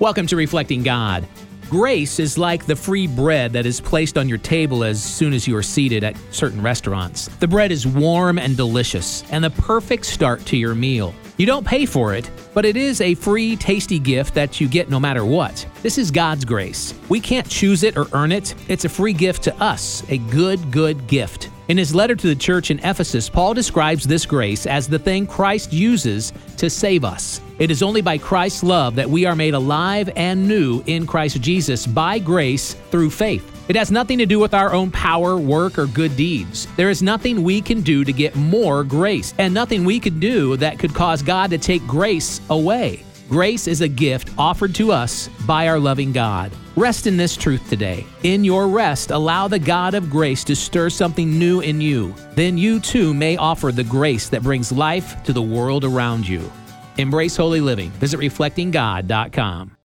Welcome to Reflecting God. Grace is like the free bread that is placed on your table as soon as you are seated at certain restaurants. The bread is warm and delicious, and the perfect start to your meal. You don't pay for it, but it is a free, tasty gift that you get no matter what. This is God's grace. We can't choose it or earn it. It's a free gift to us, a good gift. In his letter to the church in Ephesus, Paul describes this grace as the thing Christ uses to save us. It is only by Christ's love that we are made alive and new in Christ Jesus by grace through faith. It has nothing to do with our own power, work, or good deeds. There is nothing we can do to get more grace, and nothing we could do that could cause God to take grace away. Grace is a gift offered to us by our loving God. Rest in this truth today. In your rest, allow the God of grace to stir something new in you. Then you too may offer the grace that brings life to the world around you. Embrace holy living. Visit reflectinggod.com.